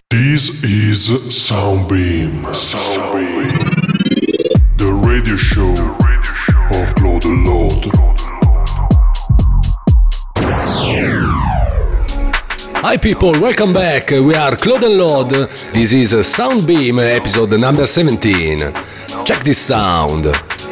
This is Soundbeam. The radio show of Claude Lord. Hi people, welcome back. We are Claude and Lord. This is Soundbeam, episode number 17. Check this sound.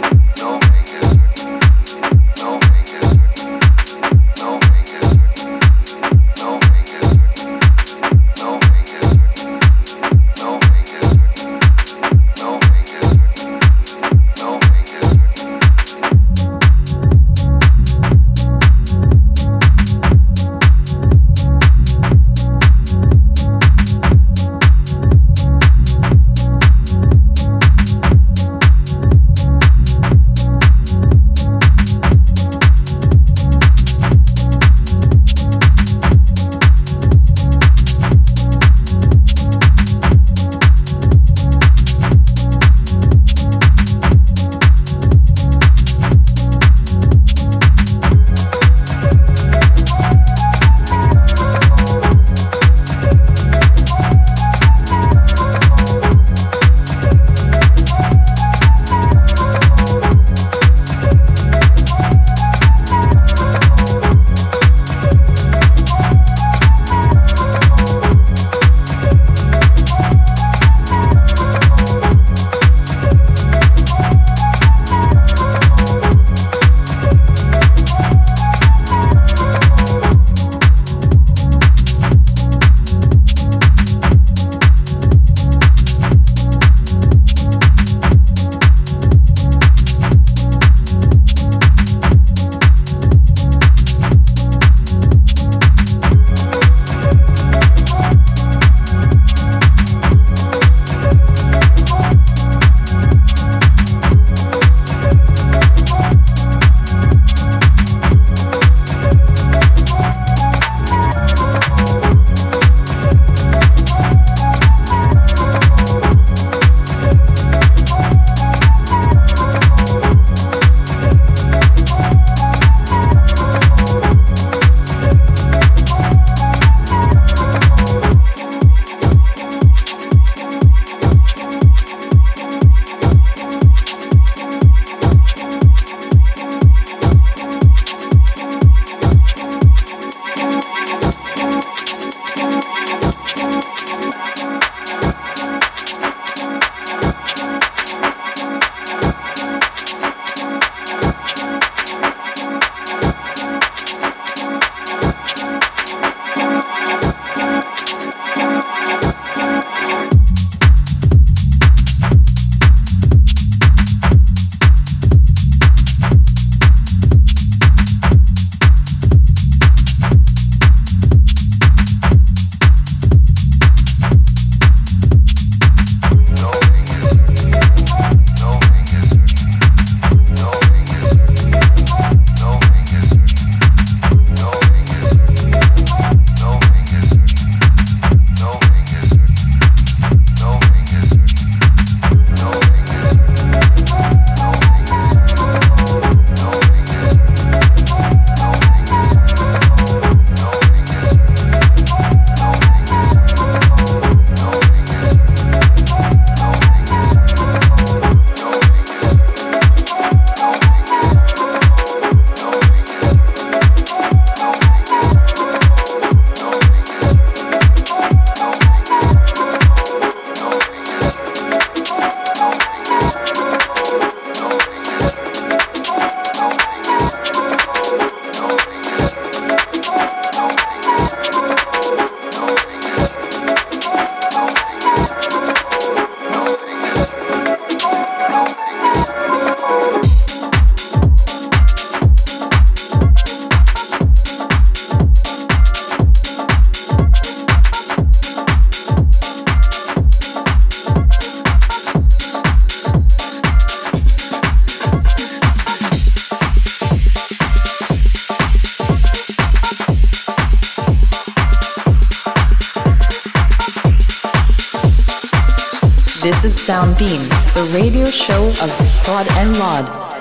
This is Soundbeam, the radio show of Claude and Lord.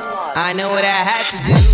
I know what I had to do.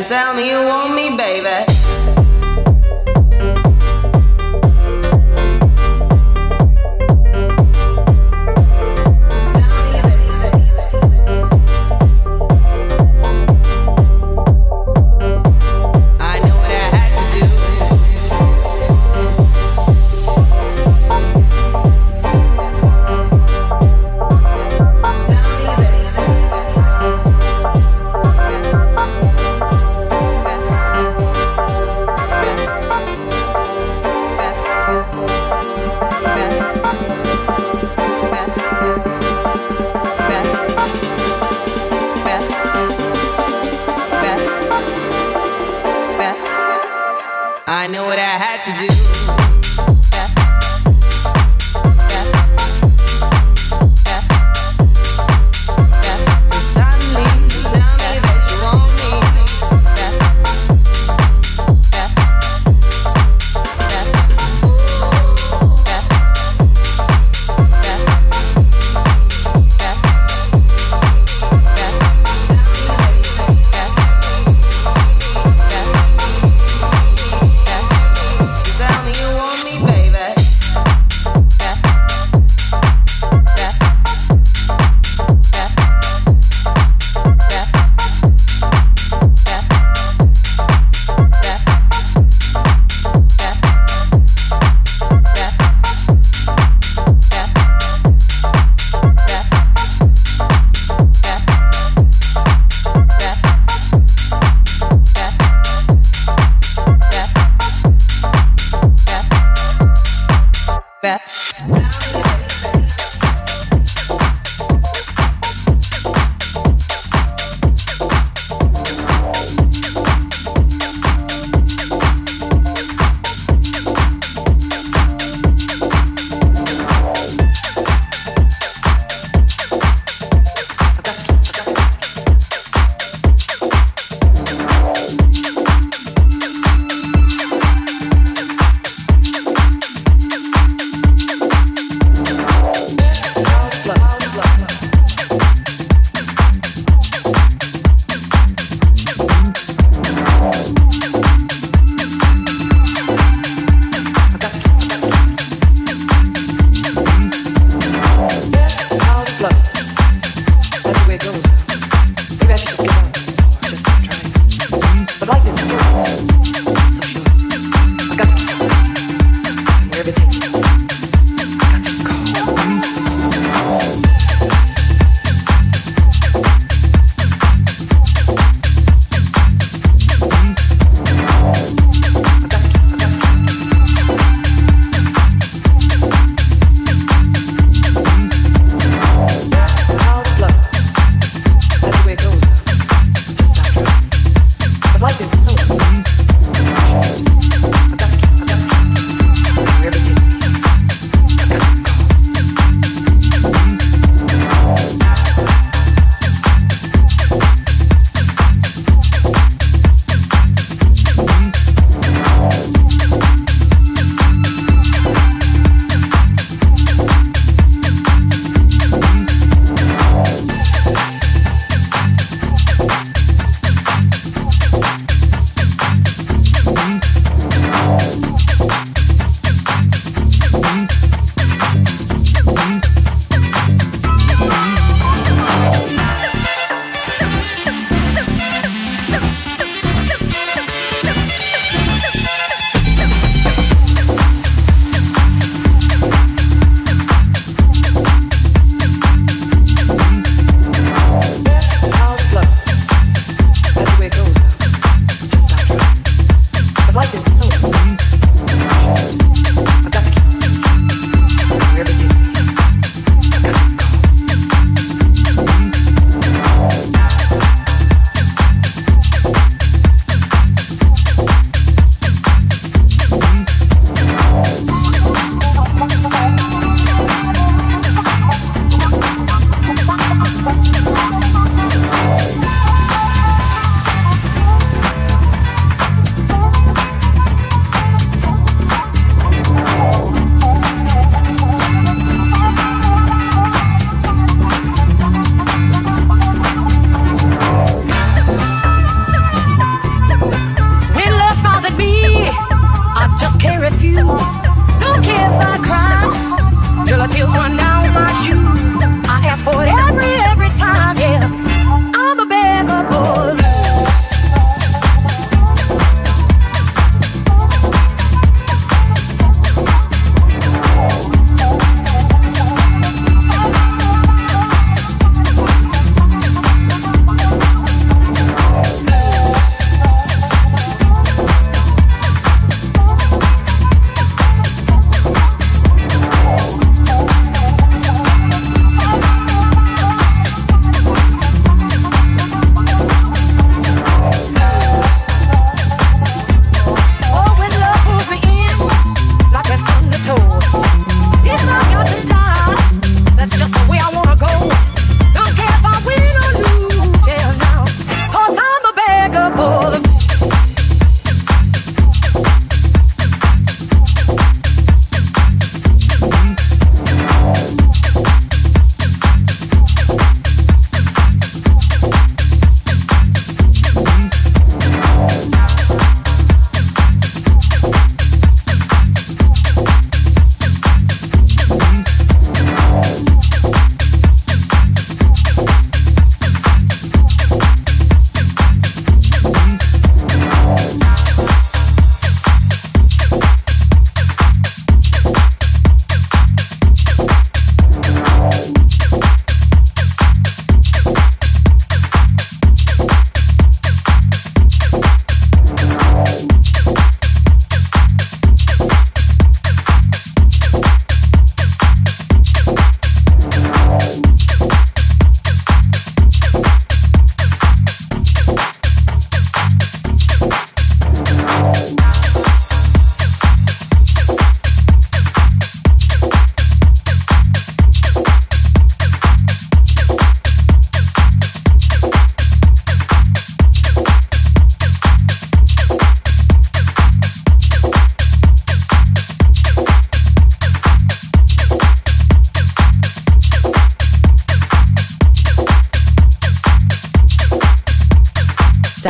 Just tell me you want me, baby. I know what I had to do. Tell me you want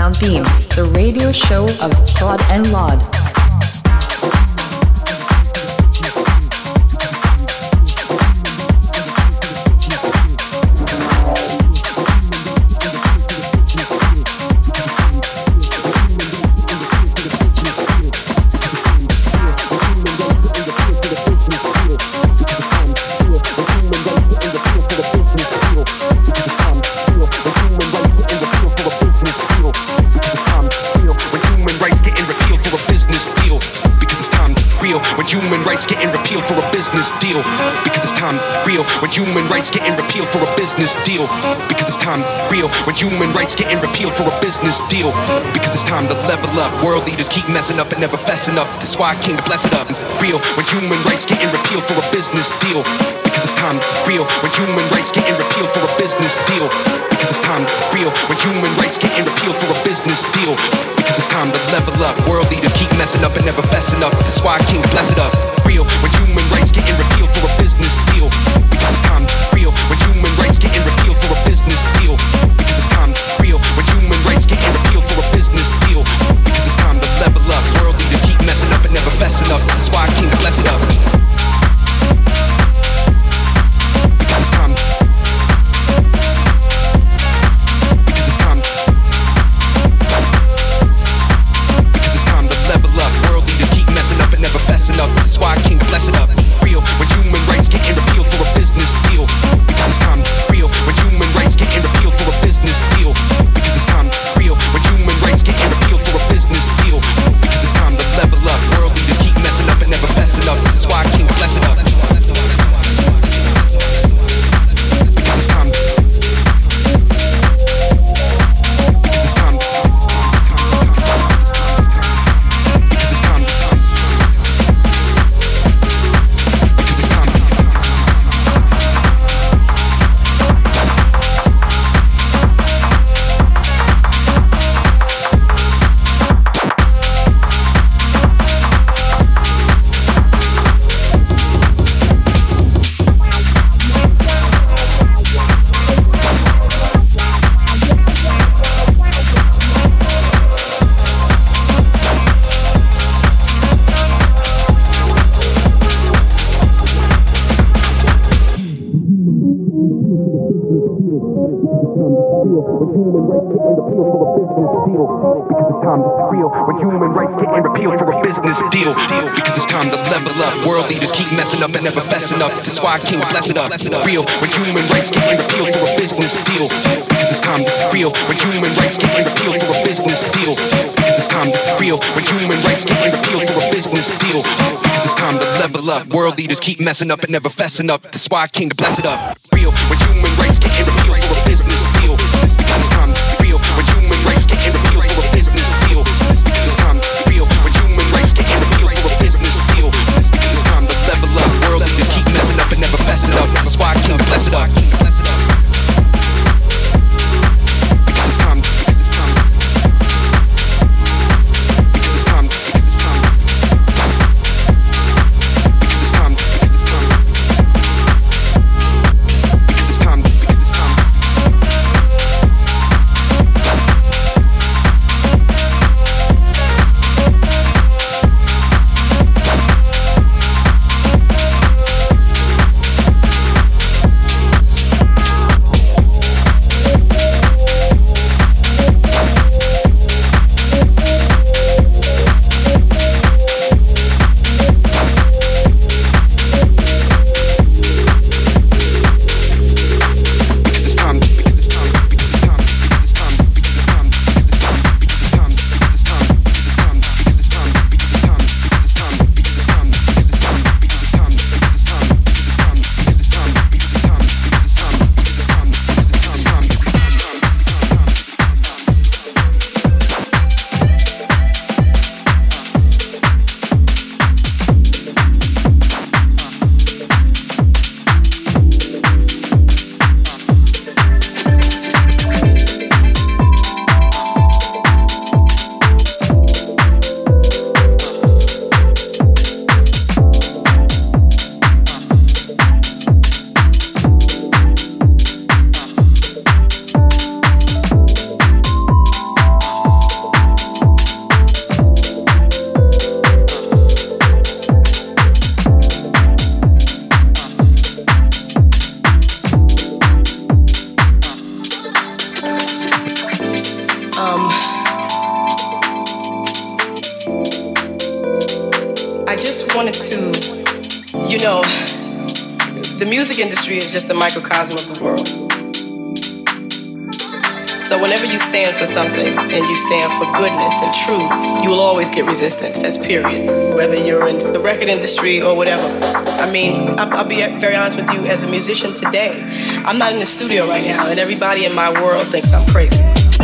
Soundbeam, the radio show of Claude and Laud. Human rights getting repealed for a business deal. Because it's time real. When human rights getting repealed for a business deal. Because it's time real. When human rights getting repealed for a business deal. Because it's time to level up. World leaders keep messing up and never fessing up. That's why I came to bless it up. Real. When human rights getting repealed for a business deal. Because it's time real. When human rights getting repealed for a business deal. Because it's time real. When human rights getting repealed for a business deal. Because it's time to level up. World leaders keep messing up and never fessing up. That's why I came to bless it up. Real. When human rights getting repealed for a business deal. Because it's time real. When human rights getting repealed for a business deal. Because it's time real. When human rights getting repealed for a business deal. Because it's time to level up. World leaders keep messing up and never fessing up. That's why I came to bless it up. Because it's time. Because it's time. Because it's time to level up. World leaders keep messing up and never fessing up. That's why I came to bless it up. Real. When human rights getting repealed for a business deal. Because it's time. Real. When human rights getting repealed for a business deal. Because it's time. Real. When human rights getting repealed for a business deal. Because it's time to level up. World leaders keep messing up and never fessing up. That's why I came to bless it up. Because it's time. Because it's time. Because it's time. Because it's time. When human rights getting repealed for a business deal. Because it's time to level up. World leaders keep messing up and never fessing up. That's why I came to bless it up. Real. When human rights getting repealed for a business deal. Because it's time to real. When human rights getting repealed for a business deal. Because it's time to real. When human rights getting repealed for a business deal. Because it's time to level up. World leaders keep messing up and never fessing up. That's why I came to bless it up. Real. When human rights getting repealed for a business deal. Because it's time to real. When human rights getting repealed for a business deal. Because it's time to real. When human rights getting repealed for a business deal. Because it's time to level up. World leaders keep messing up and never fessing up. That's why I came to bless it up. Because it's time. Because it's time. Because it's time. Because it's time. Because it's time. Because it's time. Because it's time. Because it's time. just wanted to, the music industry is just a microcosm of the world. So whenever you stand for something and you stand for goodness and truth, you will always get resistance. That's period. Whether you're in the record industry or whatever. I mean, I'll be very honest with you, as a musician today, I'm not in the studio right now, and everybody in my world thinks I'm crazy.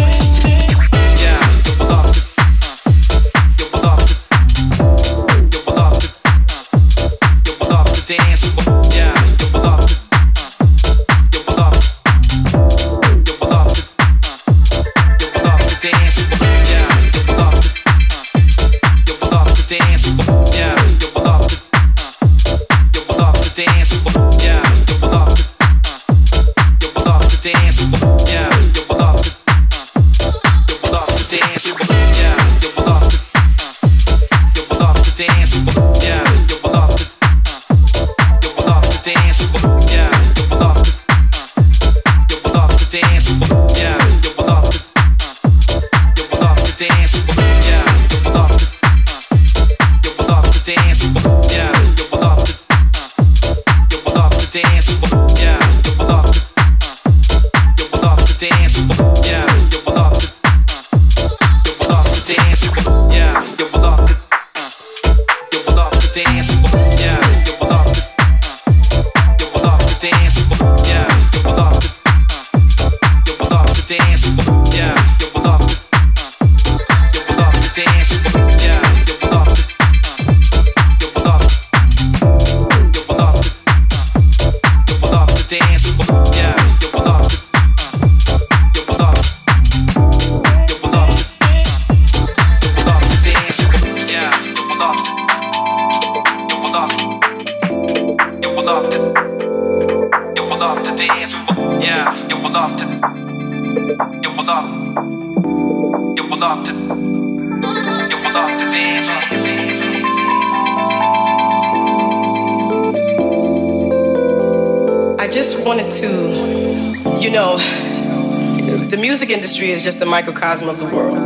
Is just a microcosm of the world.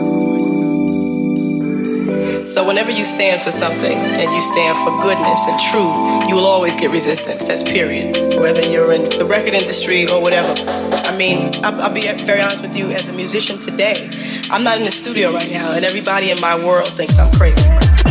So whenever you stand for something and you stand for goodness and truth, you will always get resistance. That's period. Whether you're in the record industry or whatever. I mean, I'll be very honest with you, as a musician today, I'm not in the studio right now, and everybody in my world thinks I'm crazy.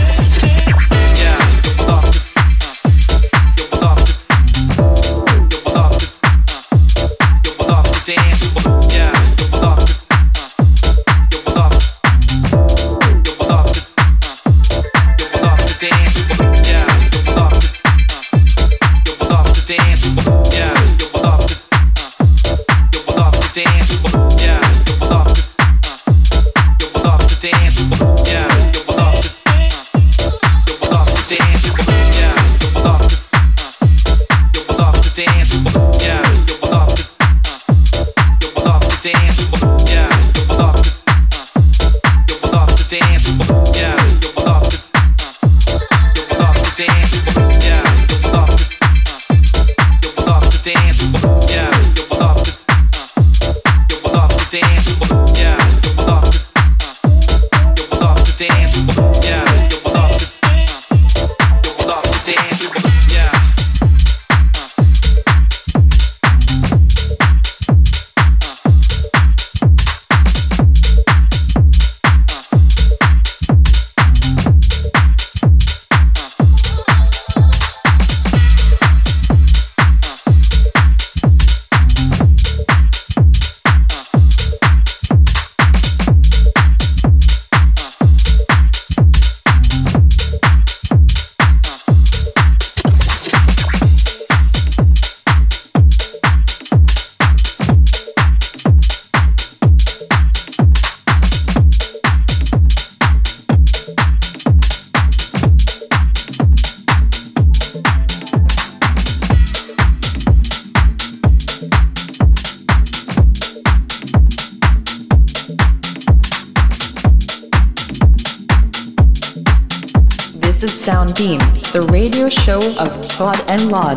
This is Soundbeam, the radio show of Claude and Laud.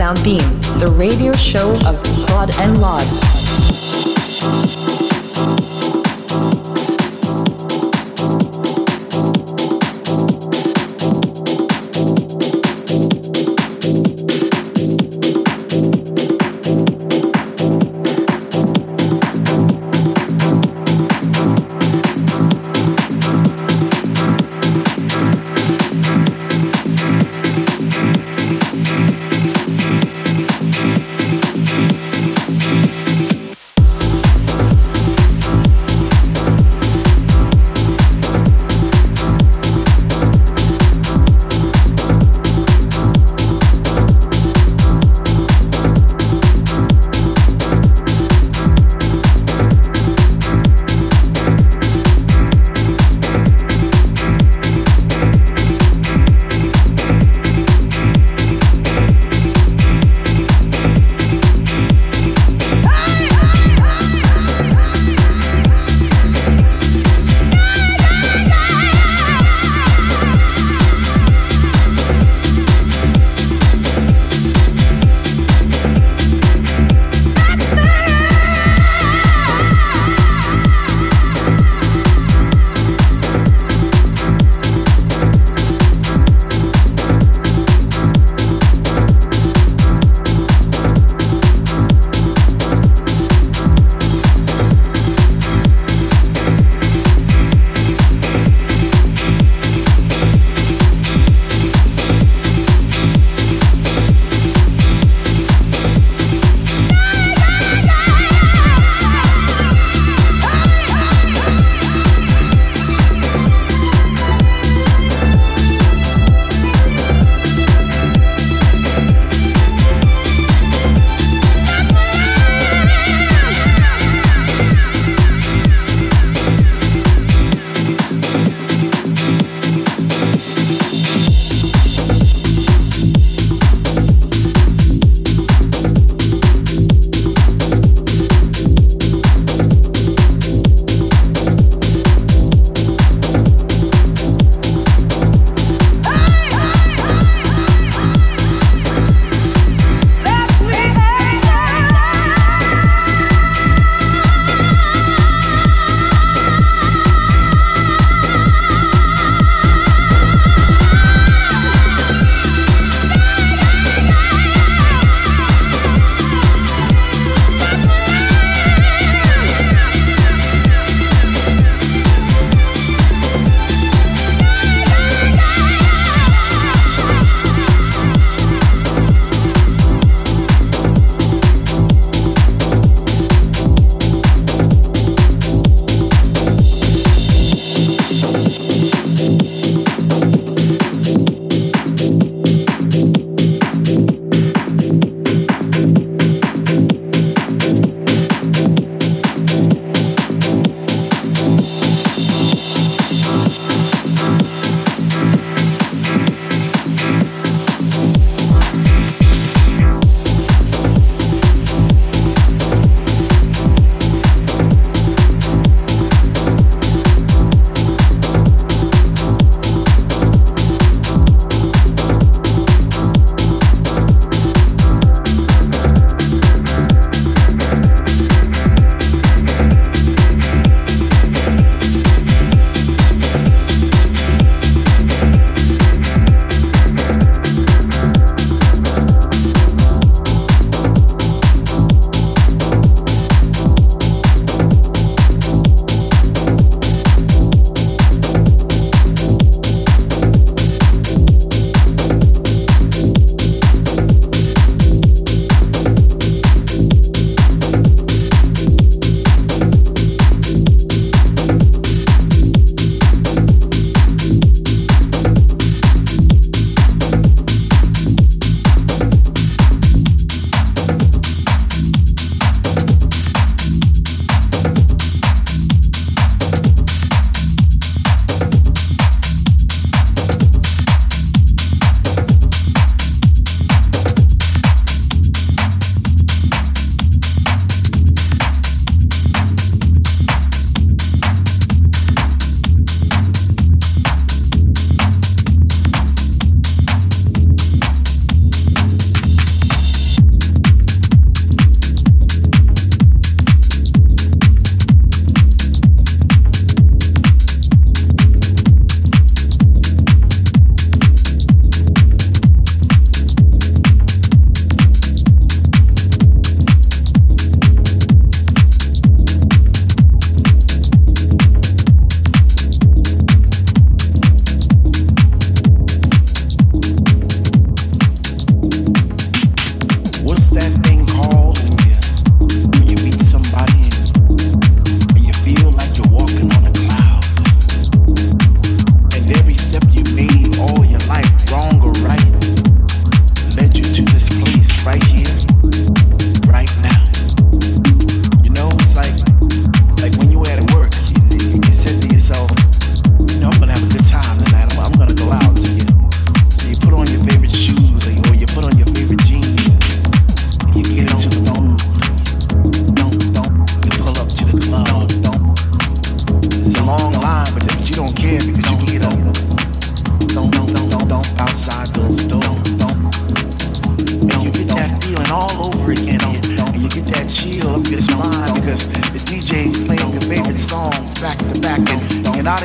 Soundbeam, the radio show of Claude and Laud.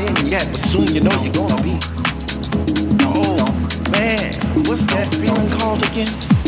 in yet, but soon you know you're gonna be. Oh man, what's that feeling called again?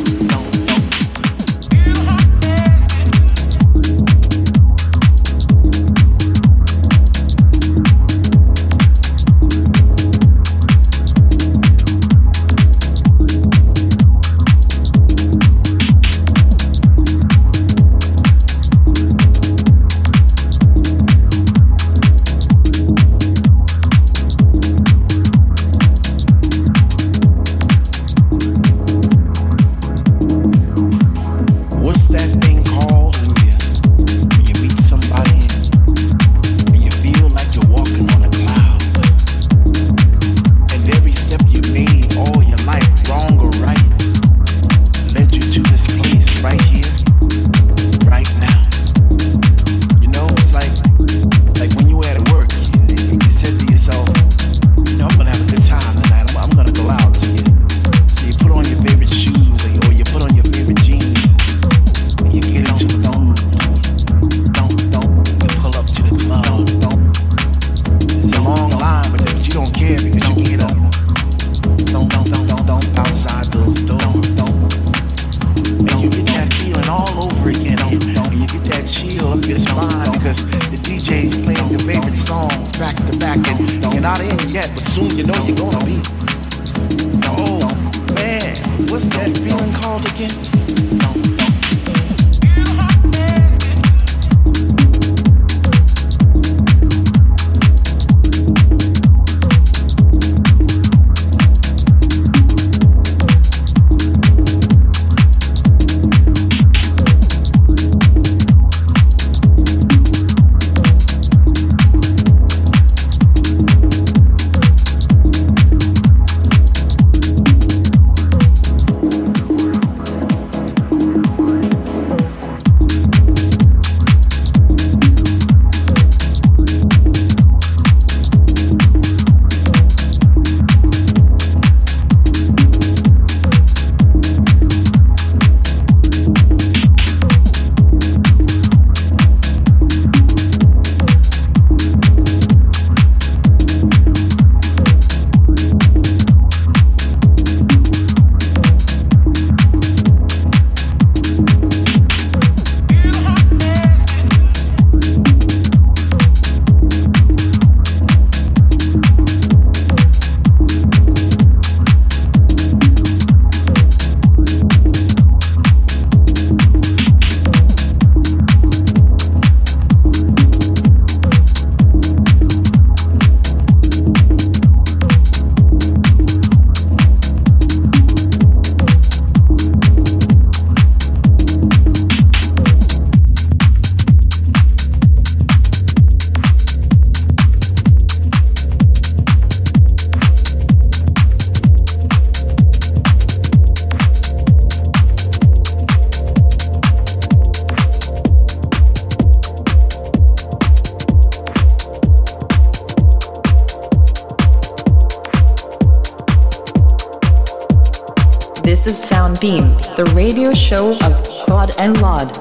This is Soundbeam, the radio show of Claude and Laud.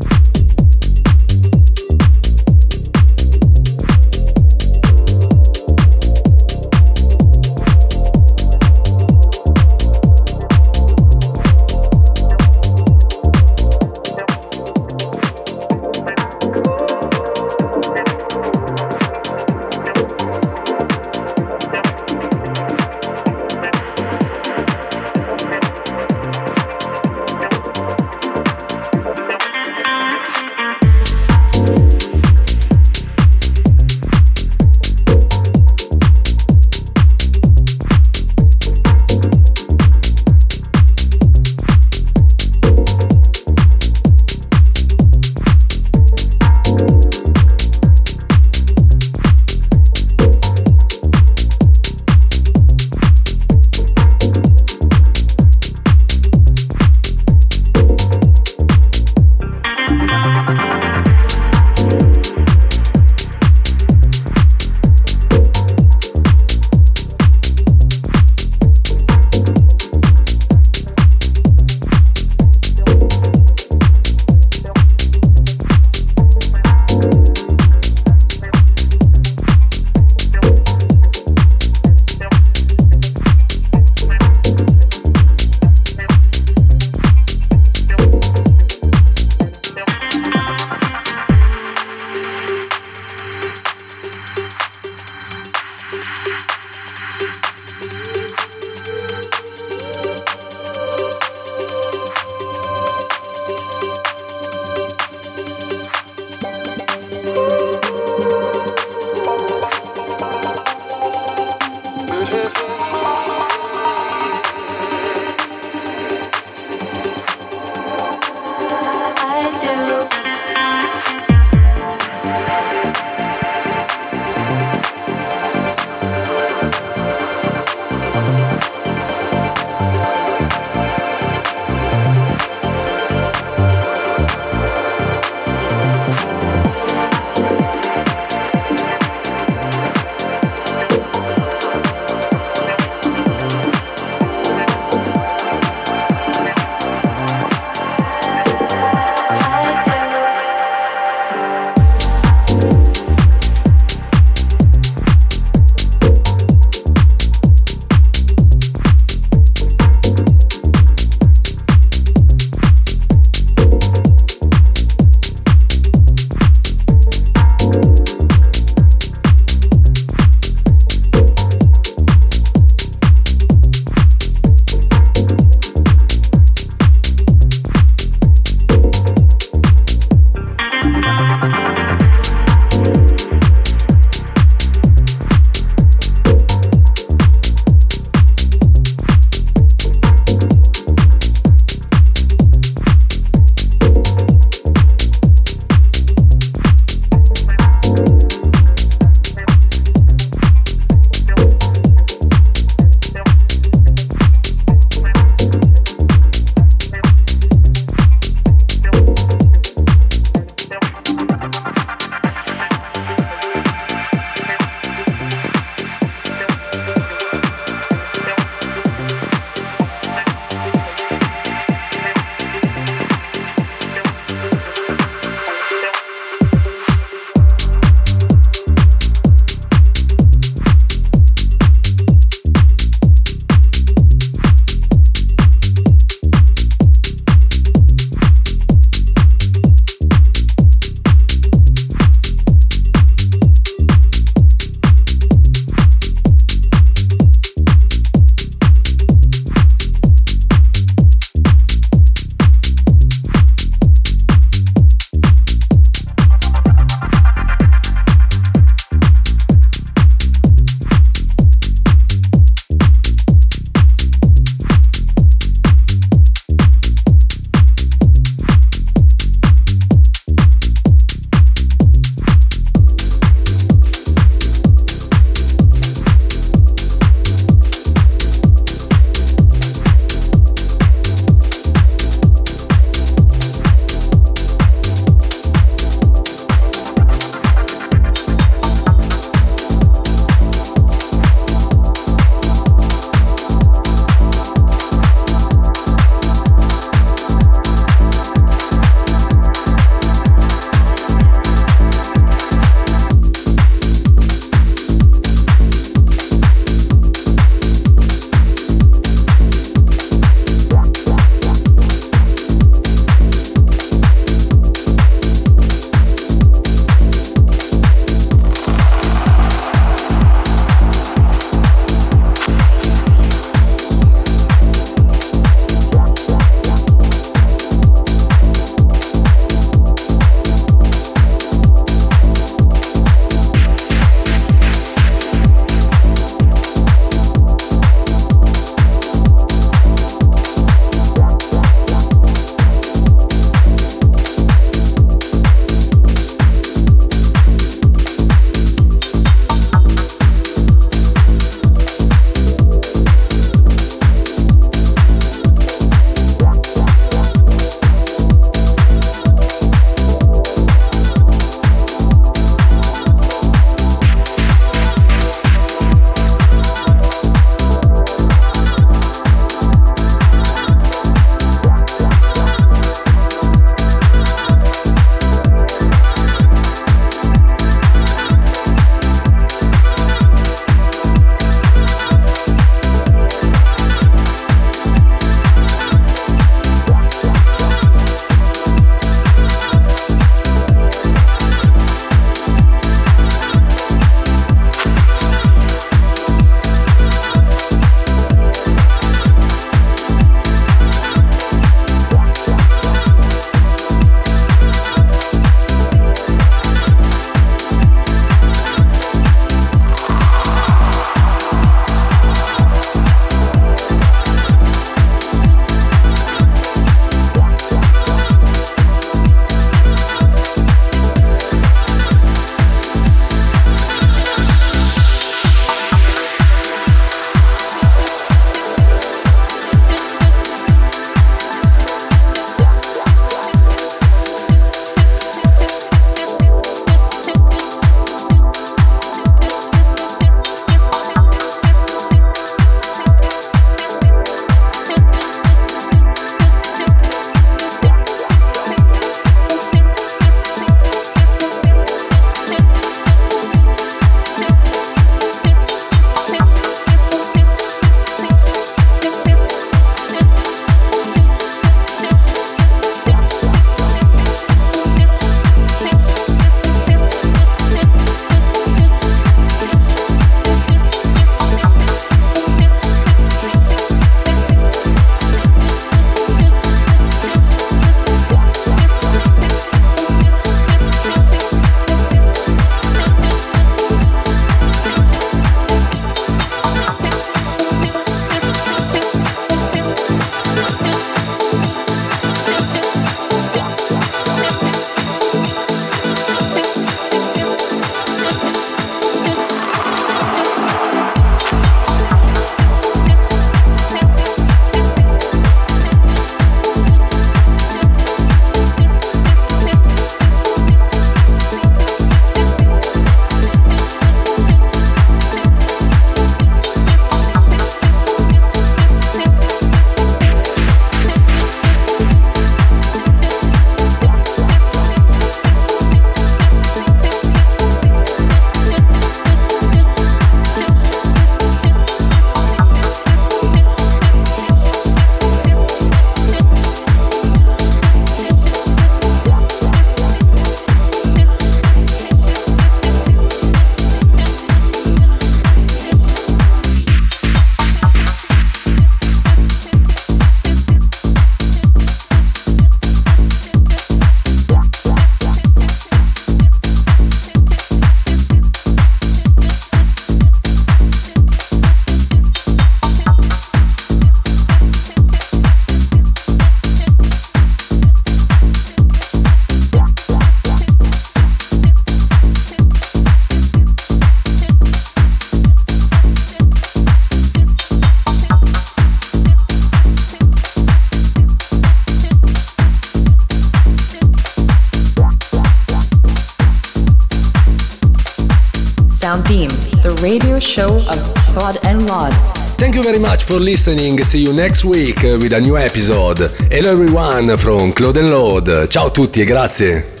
Soundbeam, the radio show of Claude and Laud. Thank you very much for listening. See you next week with a new episode. Hello everyone from Claude and Laud. Ciao a tutti e grazie.